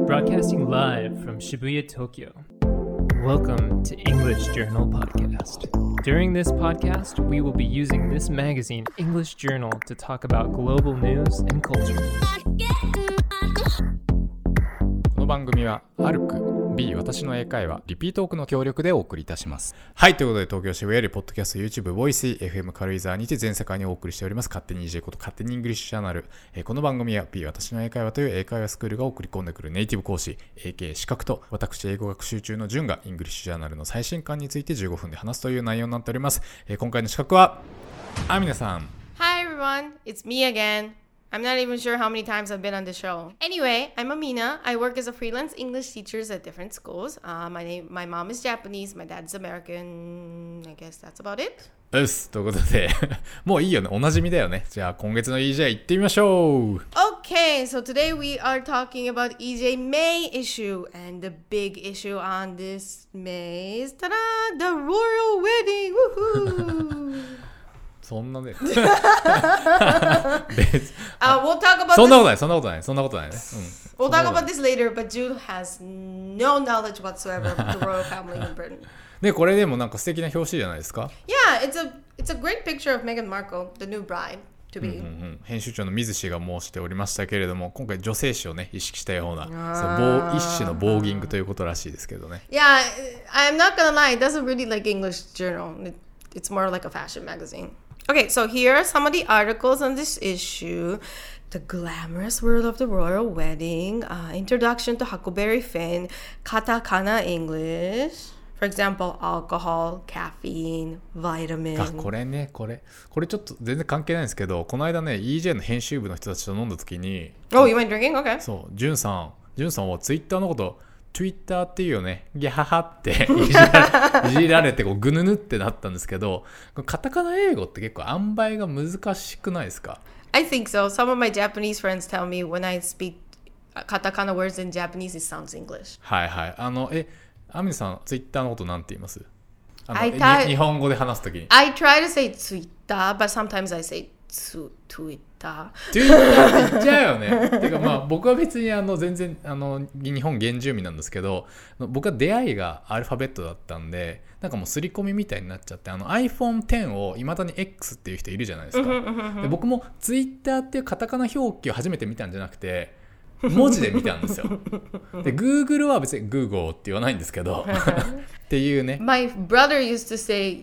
Broadcasting live from Shibuya, Tokyo. Welcome to English Journal Podcast. During this podcast, we will be using this magazine, English Journal, to talk about global news and culture. この番組はアルク B 私の英会話リピートオークの協力でお送りいたします。はい、ということで東京渋谷よりポッドキャスト YouTube ボイス FM 軽井沢にて全世界にお送りしております勝手に EJ こと勝手にイングリッシュチャンネル。この番組は B 私の英会話という英会話スクールが送り込んでくるネイティブ講師 AK 資格と私英語学習中のジュンがイングリッシュジャーナルの最新刊について15分で話すという内容になっております。今回の資格はアミナさん。 Hi everyone, it's me again.I'm not even sure how many times I've been on the show. Anyway, I'm Amina. I work as a freelance English teacher at different schools. My mom is Japanese, my dad's American. I guess that's about it. うっすということでもういいよね、おなじみだよね。じゃあ今月の EJ 行ってみましょう。 Okay, so today we are talking about EJ May issue. And the big issue on this May is, ta-da, the royal wedding. Woohoo! そんなね we'll talk about そんなことないそんなことないそんなことないね、 We'll talk about this later, but Jude has no knowledge whatsoever of the royal family in Britain. でこれでもなんか素敵な表紙じゃないですか。 Yeah, it's a great picture of Meghan Markle, the new bride to be. 編集長の水氏が申しておりましたけれども、今回女性誌をね意識したような一種のボーギングということらしいですけどね。 Yeah, I'm not gonna lie, it doesn't really like English journal. It's more like a fashion magazine.Okay, so here are some of the articles on this issue. The glamorous world of the royal wedding, introduction to Huckleberry Finn, katakana English. For example, alcohol, caffeine, vitamin. これね、これちょっと全然関係ないんですけど、この間ね EJ の編集部の人たちと飲んだ時に Oh, you went drinking? Okay. そう、ジュンさんはツイッターのことTwitter っていうよね、ギャハハっていじられてこうグヌヌってなったんですけど、カタカナ英語って結構塩梅が難しくないですか？ I think so. Some of my Japanese friends tell me when I speak katakana words in Japanese, it sounds English. はいはい。アミさん、ツイッターのことなんて言います？日本語で話すときに。 I try to say Twitter, but sometimes I say Twitter って言っちゃうよね。てかまあ僕は別に全然日本原住民なんですけど、僕は出会いがアルファベットだったんで、なんかもう刷り込みみたいになっちゃって、iPhone X をいまだに X っていう人いるじゃないですか。で僕も Twitter っていうカタカナ表記を初めて見たんじゃなくて文字で見たんですよ。で Google は別に Google って言わないんですけどっていうね。 My brother used to say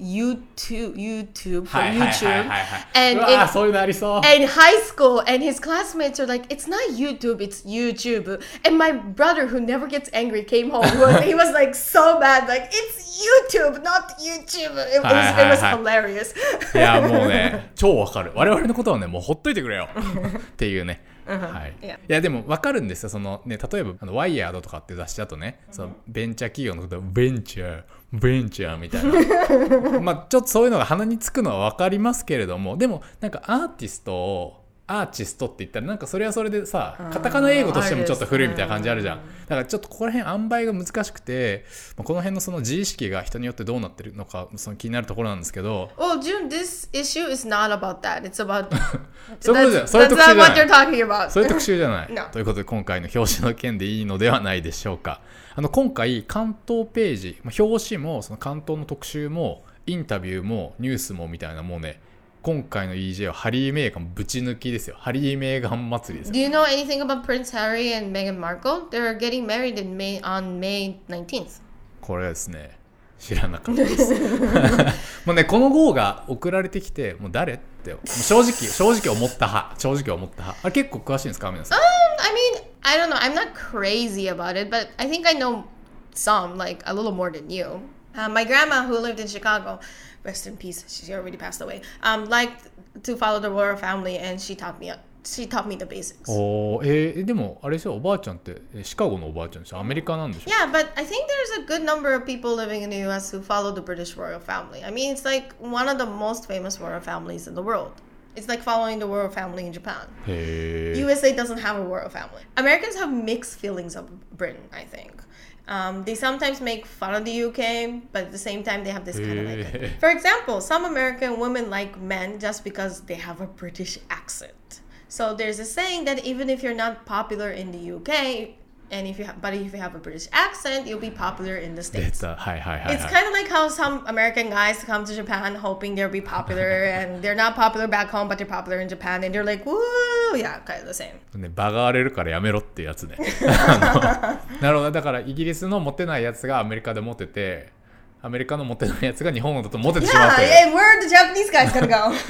YouTube for はいはいはいはい、 YouTube. うわそういうのありそう。 And in high school, and his classmates are like, it's not YouTube, it's YouTube. And my brother, who never gets angry, came home. He was like so mad, like, it's YouTube, not YouTube. It was hilarious. いやもうね超わかる。我々のことはねもうほっといてくれよっていうね。はい、いやでも分かるんですよ。そのね、例えばワイヤードとかって雑誌だとね、そのベンチャー企業のことをベンチャーみたいなまあちょっとそういうのが鼻につくのは分かりますけれども、でもなんかアーティストって言ったらなんかそれはそれでさ、カタカナ英語としてもちょっと古いみたいな感じあるじゃん。だからちょっとここら辺塩梅が難しくて、この辺のその自意識が人によってどうなってるのかその気になるところなんですけど。 Well, June, this issue is not about that. It's about そういう特集じゃない。 That's not what you're talking about. そういう特集じゃない、 No. ということで今回の表紙の件でいいのではないでしょうか。今回関東ページ、表紙もその関東の特集もインタビューもニュースもみたいな、もうね今回の EJ はハリー・メーガンぶち抜きですよ。ハリー・メーガン祭りですよ。 Do you know anything about Prince Harry and Meghan Markle? They're getting married on May 19th. これはですね知らなかったですもうねこの号が送られてきて、もう誰ってもう正直思った派。あれ結構詳しいんですか皆さん？ I mean, I don't know. I'm not crazy about it, but I think I know some, like a little more than you. My grandma, who lived in Chicago, rest in peace, she already passed away, liked to follow the royal family, and she taught me the basics. でもあれでしょ、おばあちゃんってシカゴのおばあちゃんでしょ、アメリカなんでしょ？ Yeah, but I think there's a good number of people living in the US who follow the British royal family. I mean, it's like one of the most famous royal families in the world. It's like following the royal family in Japan. USA doesn't have a royal family. Americans have mixed feelings of Britain, I think. They sometimes make fun of the UK, but at the same time they have this kind of like... For example, some American women like men just because they have a British accent. So there's a saying that even if you're not popular in the UK, And if you have a British accent, you'll be popular in the States. It's kind of like how some American guys come to Japan hoping they'll be popular and they're not popular back home, but they're popular in Japan and they're like, woo, yeah, kind of the same. ね、場が荒れるからやめろってやつね。なるほど。だからイギリスのモテないやつがアメリカでモテて、アメリカのモテないやつが日本だとモテてしまうという。 Yeah, where the Japanese guys gonna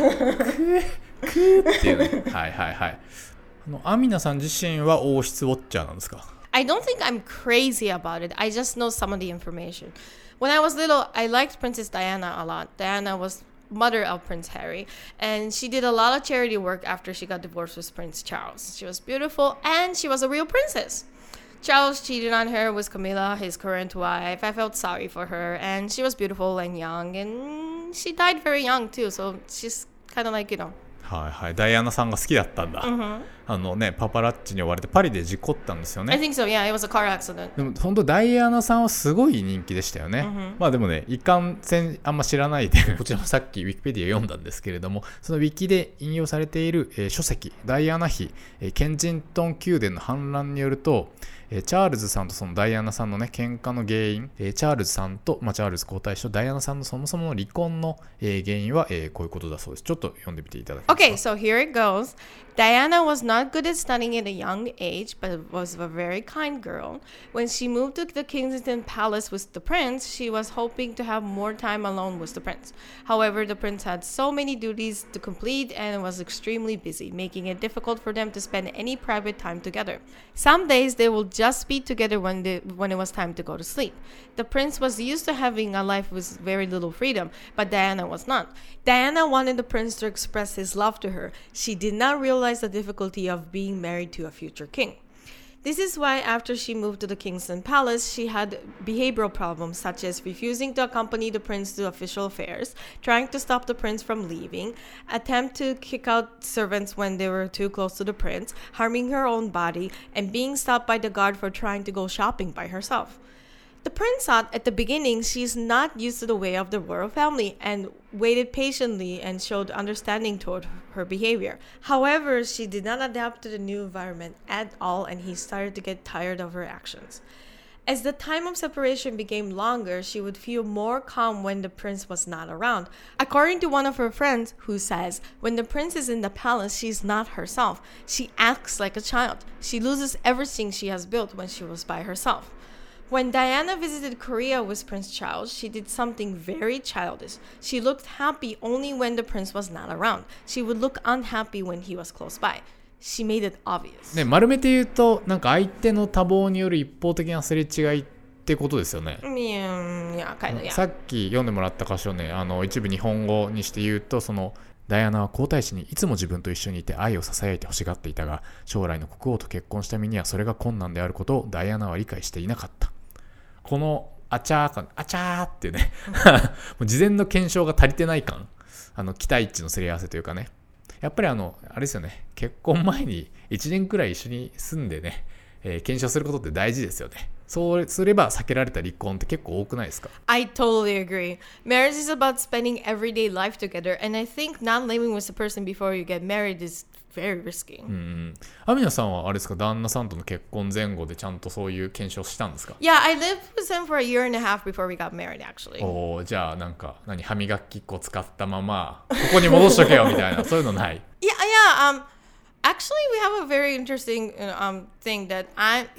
go? っていうね。はいはいはい。アミナさん自身は王室ウォッチャーなんですか？ I don't think I'm crazy about it. I just know some of the information. When I was little, I liked Princess Diana a lot. Diana was mother of Prince Harry, and she did a lot of charity work after she got divorced with Prince Charles. She was beautiful, and she was a real princess. Charles cheated on her with Camilla, his current wife. I felt sorry for her, and she was beautiful and young, and she died very young too, so she's kind of like, you know. はいはい、ダイアナさんが好きだったんだ。パパラッチに追われてパリで事故ったんですよね。 I think so, yeah, it was a car accident. でも本当ダイアナさんはすごい人気でしたよね。まあでもね、いかんせんあんま知らないでこちらもさっきウィキペディア読んだんですけれども、そのウィキで引用されている、書籍ダイアナ妃、ケンジントン宮殿の反乱によると、チャールズさんとそのダイアナさんのね喧嘩の原因、チャールズさんと、チャールズ皇太子とダイアナさんのそもそもの離婚の、原因は、こういうことだそうです。ちょっと読んでみていただけますか。 Okay, so here it goes. Diana was not good at studying at a young age, but was a very kind girl. When she moved to the Kensington Palace with the prince, she was hoping to have more time alone with the prince. However, the prince had so many duties to complete and was extremely busy, making it difficult for them to spend any private time together. Some days they will just be together when it was time to go to sleep. The prince was used to having a life with very little freedom, but Diana was not. Diana wanted the prince to express his love to her. She did not realize the difficulty of being married to a future king. This is why after she moved to the Kensington Palace, she had behavioral problems such as refusing to accompany the prince to official affairs, trying to stop the prince from leaving, attempt to kick out servants when they were too close to the prince, harming her own body, and being stopped by the guard for trying to go shopping by herself. The prince thought at the beginning she's not used to the way of the royal family and waited patiently and showed understanding toward her behavior. However, she did not adapt to the new environment at all and he started to get tired of her actions. As the time of separation became longer, she would feel more calm when the prince was not around. According to one of her friends, who says, when the prince is in the palace, she's not herself. She acts like a child. She loses everything she has built when she was by herself. When Diana visited Korea with Prince Charles, she did something very childish. She looked happy only when the prince was not around. She would look unhappy when he was close by. She made it obvious. ね、丸めて言うと、なんか相手の多忙による一方的なすれ違いってことですよね。 Yeah, kind of, yeah. さっき読んでもらった箇所ね、一部日本語にして言うと、そのダイアナは皇太子にいつも自分と一緒にいて愛を囁いて欲しがっていたが、将来の国王と結婚した身にはそれが困難であることをダイアナは理解していなかった。このあちゃー感、あちゃーっていうねもう事前の検証が足りてない感、期待値のすり合わせというかね、やっぱりあれですよね、結婚前に1年くらい一緒に住んでね、検証することって大事ですよね。そうすれば避けられた離婚って結構多くないですか？ I totally agree. Marriage is about spending everyday life together, and I think not living with a person before you get married is very risky. アミナさんはあれですか、旦那さんとの結婚前後でちゃんとそういう検証したんですか？ Yeah, I lived with him for a year and a half before we got married, actually. おー、じゃあなんか歯磨き粉使ったままここに戻しとけよみたいなそういうのない？ Yeah. Actually, we have a very interesting thing that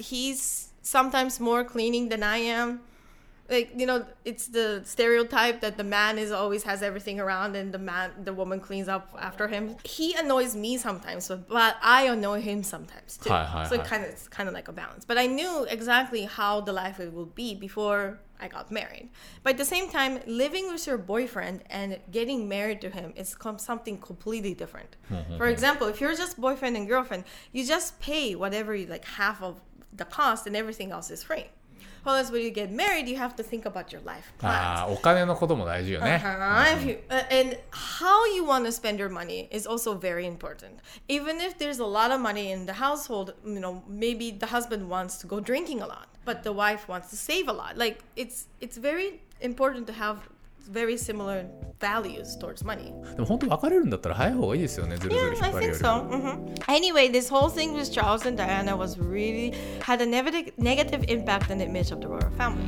he's sometimes more cleaning than I am. Like, you know, it's the stereotype that the man always has everything around and the woman cleans up after him. He annoys me sometimes, but I annoy him sometimes too. So it's kind of like a balance. But I knew exactly how the life it would be before I got married. But at the same time, living with your boyfriend and getting married to him is something completely different. For example, if you're just boyfriend and girlfriend, you just pay whatever like half of the cost and everything else is free. Whereas when you get married, you have to think about your life plans. お金のことも大事よね。 And how you want to spend your money is also very important. Even if there's a lot of money in the household, you know, maybe the husband wants to go drinking a lot, but the wife wants to save a lot. Like it's very important to have very similar values towards money. でも本当別れるんだったら早い方がいいですよね。ずるずる引っ Yeah, 張 I るよ think り。 so. Anyway, this whole thing with Charles and Diana was really had a negative impact on the image of the royal family.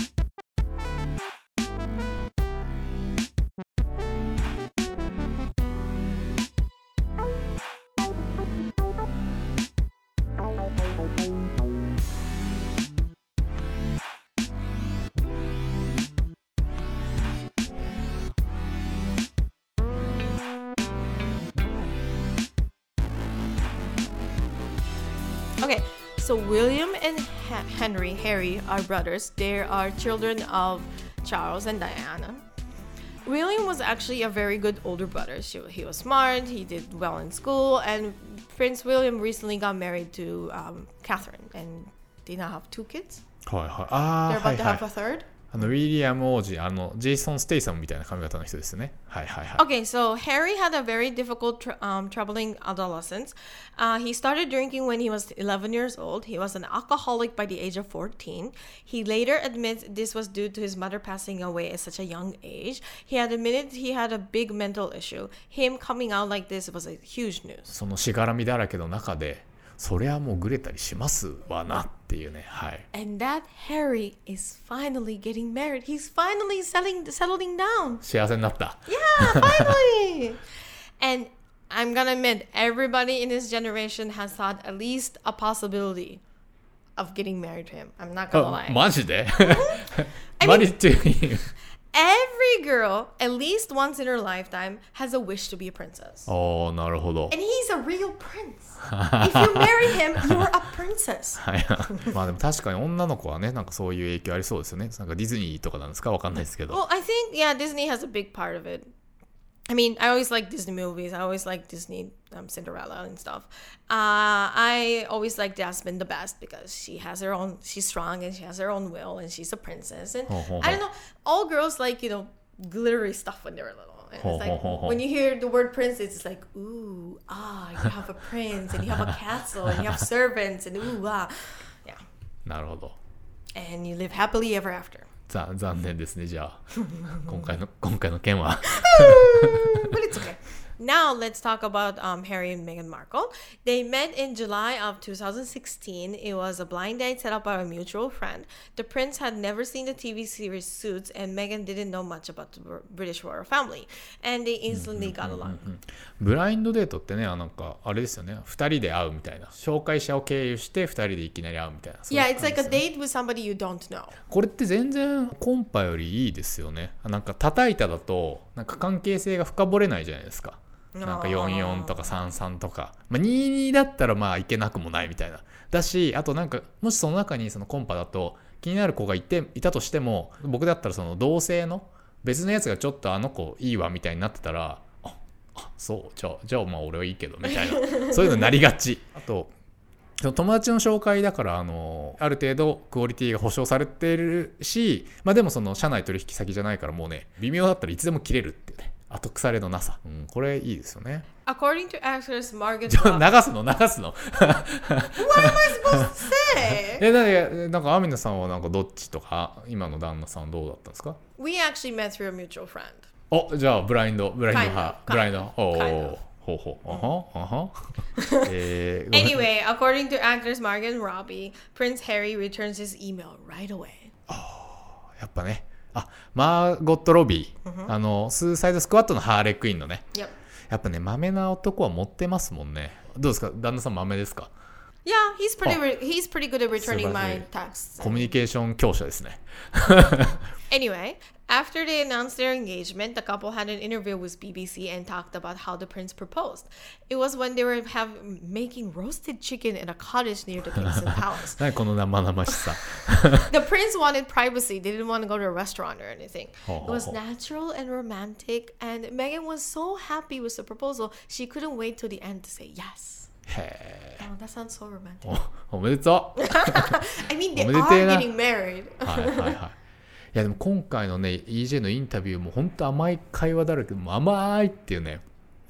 Okay, so William and Harry are brothers. They are children of Charles and Diana. William was actually a very good older brother. He was smart, he did well in school, and Prince William recently got married to Catherine, and they now have 2 kids. はいはい。ああ、 They're は about い to はい。 have a third. ウィリアム王子、ジェイソン・ステイサムみたいな髪型の人ですね。はいはいはい。 Okay, so Harry had a very difficult, troubling adolescence. He started drinking when he was 11 years old. He was an alcoholic by the age of 14. He later admits this was due to his mother passing away at such a young age. He had admitted he had a big mental issue. Him coming out like this was a huge news. そのしがらみだらけの中で、そりゃもうグレたりしますわなっていうね。はい。 And that Harry is finally getting married. He's finally settling down. 幸せになった。 Yeah, finally. And I'm gonna admit, everybody in this generation has thought at least a possibility of getting married to him. I'm not gonna lie. マジで I mean- マリっていう。 Every girl, at least once in her lifetime, has a wish to be a princess. おー、なるほど。 And he's a real prince. If you marry him, you're a princess. はい。まあでも確かに女の子はね、なんかそういう影響ありそうですよね。なんかディズニーとかなんですかわかんないですけど。 Well, I think, yeah, Disney has a big part of it. I mean, I always like Disney movies. I always like Disney Cinderella and stuff. I always like Jasmine the best because she's strong and she has her own will and she's a princess. And I don't know, all girls like, glittery stuff when they were little. And it's like, when you hear the word prince, it's like, ooh, you have a prince and you have a castle and you have servants and ooh, yeah. なるほど。 And you live happily ever after. 残念ですね、じゃあ。今回の件は。 But it's okay. Now let's talk about Harry and Meghan Markle. They met in July of 2016. It was a blind date set up by a mutual friend. The prince had never seen the TV series Suits, and Meghan didn't know much about the British royal family. And they instantly got along. ブラインドデートってね、なんかあれですよね。2人で会うみたいな。紹介者を経由して2人でいきなり会うみたいな。 Yeah, it's like a date with somebody you don't know. これって全然コンパよりいいですよね。なんか叩いただとなんか関係性が深掘れないじゃないですか。なんか44とか33とか、22だったらまあいけなくもないみたいな。だし、あとなんかもしその中にそのコンパだと気になる子がいたとしても、僕だったらその同性の別のやつがちょっとあの子いいわみたいになってたら、そうじゃあまあ俺はいいけどみたいなそういうのになりがち。あと友達の紹介だからある程度クオリティが保証されているし、まあでもその社内取引先じゃないからもうね、微妙だったらいつでも切れるっていうね、後腐れのなさ、これいいですよね。 According to actress Margaret 流すの What am I supposed to say? なんかアミナさんはなんかどっちとか、今の旦那さんはどうだったんですか？ We actually met through a mutual friend. じゃあブラインド派、ブラインド、ほう。 Anyway, according to actress Margot Robbie, Prince Harry returns his email right away. やっぱね、マーゴット・ロビー、スーサイドスクワットのハーレークイーンのね、 Yep. やっぱね、豆な男は持ってますもんね。どうですか、旦那さん豆ですか？ Yeah, he's pretty good at returning my texts. コミュニケーション強者ですね。 Anyway, after they announced their engagement, the couple had an interview with BBC and talked about how the prince proposed. It was when they were making roasted chicken in a cottage near the Kingston Palace. 何この生々しさ。 The prince wanted privacy. They didn't want to go to a restaurant or anything. Oh, It was oh, oh. natural and romantic, and Meghan was so happy with the proposal, she couldn't wait till the end to say yes. へ Oh, that sounds so romantic. ー、おめでとう。 I mean, they おめで are てえな。 getting married. いやでも今回のね EJ のインタビューも本当甘い会話だらけで、もう甘いっていうね、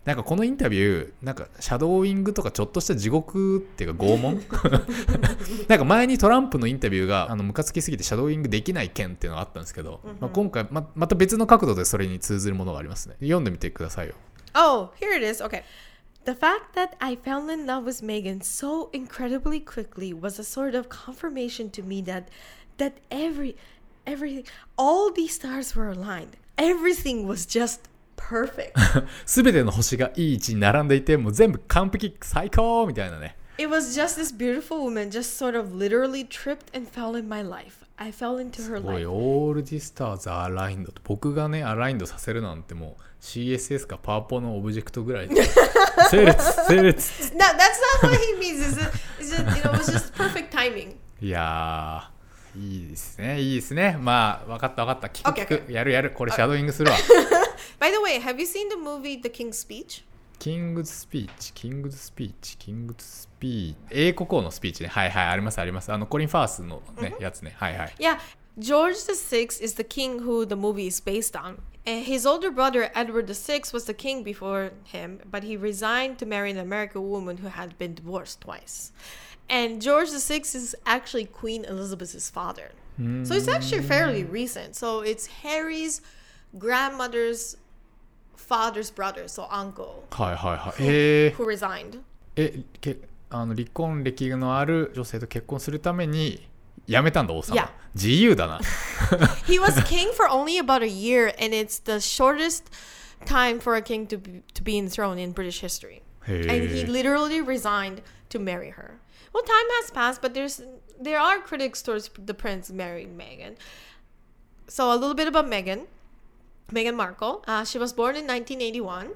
なんかこのインタビューなんかシャドーイングとかちょっとした地獄っていうか拷問なんか前にトランプのインタビューがムカつきすぎてシャドーイングできない件っていうのがあったんですけど、今回 また別の角度でそれに通ずるものがありますね。読んでみてくださいよ。 Oh, here it is. Okay. The fact that I fell in love with Megan so incredibly quickly was a sort of confirmation to me that everything, all these stars were aligned. Everything was just perfect. すべての星がいい位置に並んでいて、もう全部完璧、最高みたいなね。 It was just this beautiful woman just sort of literally tripped and fell in my life. I fell into her life. すごい、all the stars are aligned と僕がね、アラインドさせるなんてもう CSS かパワポのオブジェクトぐらいで整列 No, that's not what he means. It's just, you know, it was just perfect timing. いやー、いいですね、いいですね。まあ、わかった。聞く、やる。これシャドーイングするわ。 By the way, have you seen the movie The King's Speech? キングズスピーチ。英国王のスピーチね。はい、あります。コリン・ファースのね、やつね。はい。 Yeah, George VI is the king who the movie is based on. And his older brother, Edward VI, was the king before him, but he resigned to marry an American woman who had been divorced twice. And George VI is actually Queen Elizabeth's father. So it's actually fairly recent. So it's Harry's grandmother's father's brother, so uncle, はい。 who resigned. 離婚歴のある女性と結婚するために辞めたんだ、王様。 Yeah. 自由だな。 He was king for only about a year, and it's the shortest time for a king to be enthroned in British history. And he literally resigned to marry her. Well, time has passed, but there are critics towards the prince marrying Meghan. So a little bit about Meghan Markle. She was born in 1981.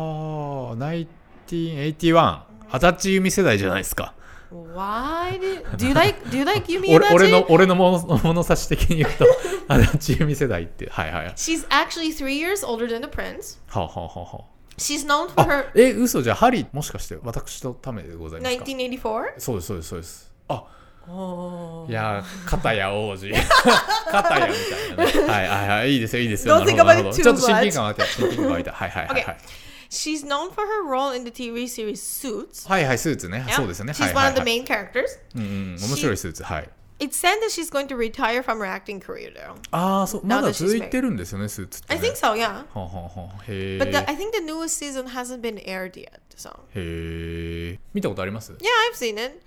1981。足立由美世代じゃないですか。 Why do you like Yumi Adachi? 俺の物差し的に言うと足立由美世代ってはい。 She's actually 3 years older than the prince. は。 She's known for her. 嘘じゃハリーもしかして私のためでございますか。 1984? そうです。いや片や王子片やみたいなね。はい。いいですよ。 Don't think about it too much. ちょっと親近感湧いた。はい。 Okay. She's known for her role in the TV series Suits. はい、スーツね。そうですよね。 She's one of the main characters. 面白いスーツ。はい。 It's said that she's going to retire from her acting career though. そう。まだ続いてるんですよね、スーツってね。 I think so, yeah. へー。 But I think the newest season hasn't been aired yet, so. へー。見たことあります？ Yeah, I've seen it.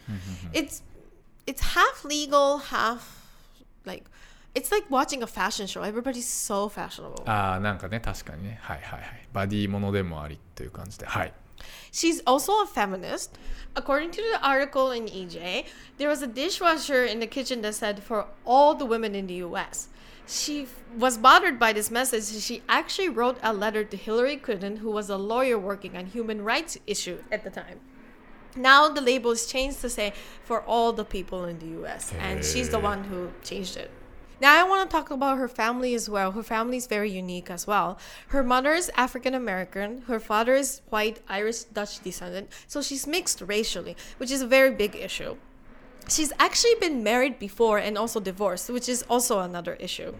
It's half legal, half like it's like watching a fashion show. Everybody's so fashionable. なんかね、確かにね。はい。バディものでもありという感じで。はい。 She's also a feminist. According to the article in EJ, there was a dishwasher in the kitchen that said for all the women in the US. She was bothered by this message. She actually wrote a letter to Hillary Clinton, who was a lawyer working on human rights issues at the time. Now the label is changed to say for all the people in the US, and she's the one who changed it. Now I want to talk about her family as well. Her family is very unique as well. Her mother is African American. Her father is white, Irish, Dutch descendant. So she's mixed racially, which is a very big issue. She's actually been married before and also divorced, which is also another issue.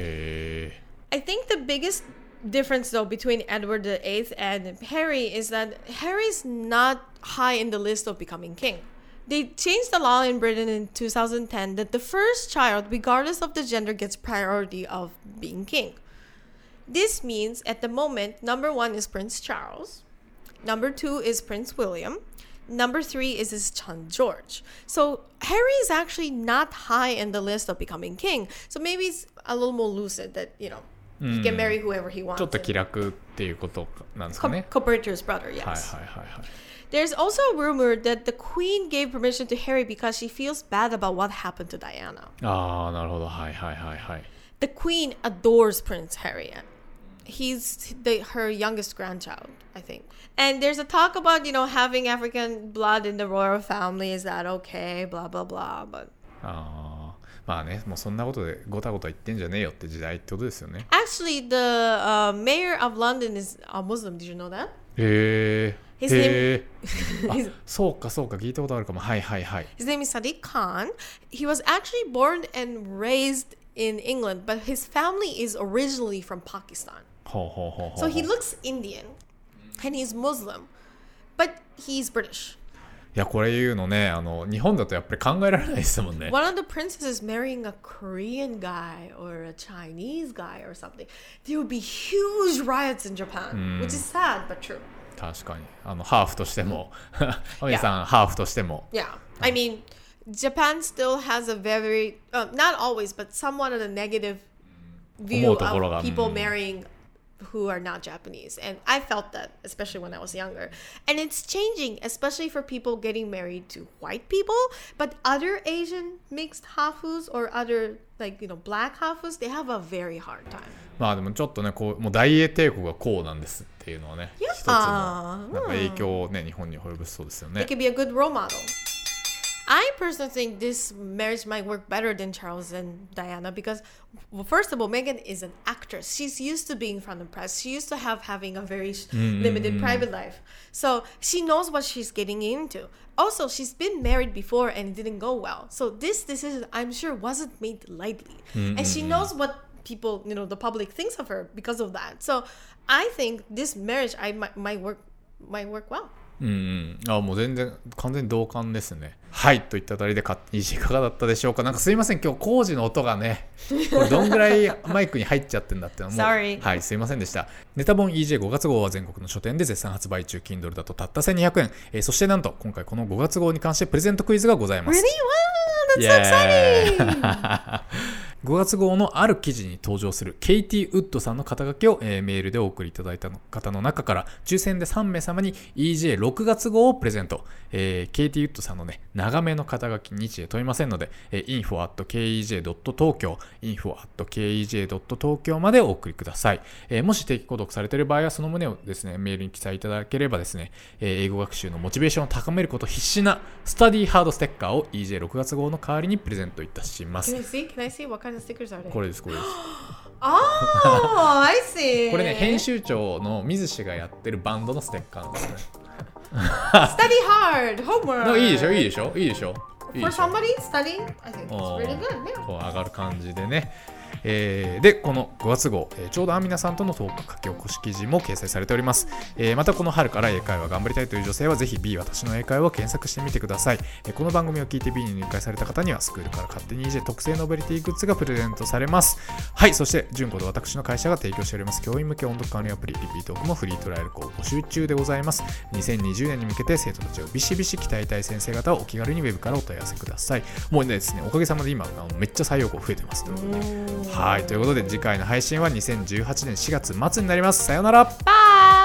I think the biggest difference though between Edward VIII and Harry is that Harry's not high in the list of becoming king. They changed the law in Britain in 2010 that the first child, regardless of the gender, gets priority of being king. This means at the moment, number 1 is Prince Charles, number 2 is Prince William, number 3 is his son George. So Harry is actually not high in the list of becoming king. So maybe it's a little more lucid that, you know, he can marry whoever he wants. ちょっと気楽っていうことなんですかね。 Compared to his brother, yes. はい。 There's also a rumor that the Queen gave permission to Harry because she feels bad about what happened to Diana. なるほど。はい。 The Queen adores Prince Harry. He's her youngest grandchild, I think. And there's a talk about, you know, having African blood in the royal family. Is that okay? Blah, blah, blah. But まあね、もうそんなことでごたごた言ってんじゃねえよって時代ってことですよね。 Actually, the mayor of London is a Muslim. Did you know that? へえ。そうか聞いたことあるかも。はい。 His name is Sadiq Khan. He was actually born and raised in England, but his family is originally from Pakistan. So he looks Indian. and he's Muslim, but he's British. いやこれ言うのね日本だとやっぱり考えられないですもんね。 One of the princes is marrying a Korean guy or a Chinese guy or something. There would be huge riots in Japan, which is sad but true. 確かにハーフとしてもお兄さんハーフとしても Yeah, I mean Japan still has a very not always but somewhat of a negative view of people marrying who are not Japanese, and I felt that especially when I was younger, and it's changing, especially for people getting married to white people, but other Asian mixed hafus or other like black hafus, they have a very hard time. まあでもちょっとねこうもう大英帝国がこうなんですっていうのはね、一つのなんか影響をね日本に及ぼしそうですよね。 It could be a good role model. I personally think this marriage might work better than Charles and Diana because, well, first of all, Meghan is an actress. She's used to being in front of the press. She used to having a very limited private life. So she knows what she's getting into. Also, she's been married before and it didn't go well. So this decision, I'm sure, wasn't made lightly. And she knows what people, the public thinks of her because of that. So I think this marriage might work well. もう全然完全に同感ですね。はいといったあたりでいかがだったでしょうか。なんかすいません今日工事の音がねこれどんぐらいマイクに入っちゃってんだってのもはいすいませんでした。ネタ本 EJ5 月号は全国の書店で絶賛発売中。 Kindle だとたった1200円、そしてなんと今回この5月号に関してプレゼントクイズがございます。 Really? Wow, that's so exciting! 5月号のある記事に登場するケイティ・ウッドさんの肩書きを、メールでお送りいただいた方の中から抽選で3名様に EJ6 月号をプレゼント。ケイティ・ウッドさんのね長めの肩書き日時問いませんので、info@kej.tokyo info@kej.tokyo までお送りください。もし定期購読されている場合はその旨をですねメールに記載いただければですね、英語学習のモチベーションを高めること必至なスタディハードステッカーを EJ6 月号の代わりにプレゼントいたします。 Can I see what kind of stickers are they? これですこれです。 Oh, I see. これね編集長の水氏がやってるバンドのステッカーなんですね。 Study hard, homework. いいでしょいいでしょいいでしょ。 For somebody studying, I think it's really good. Yeah. こう上がる感じでね。でこの5月号、ちょうどアミナさんとのトーク書き起こし記事も掲載されております。またこの春から英会話頑張りたいという女性はぜひ B 私の英会話を検索してみてください。この番組を聞いて B に入会された方にはスクールから勝手に EJ 特製ノベリティグッズがプレゼントされます。はい、そして純子と私の会社が提供しております教員向け音読管理アプリリピートークもフリートライアル校募集中でございます。2020年に向けて生徒たちをビシビシ鍛えたい先生方はお気軽にウェブからお問い合わせください。もうですねおかげさまで今めっちゃ採用校増えてますということで、はいということで次回の配信は2018年4月末になります。さようなら。 Bye!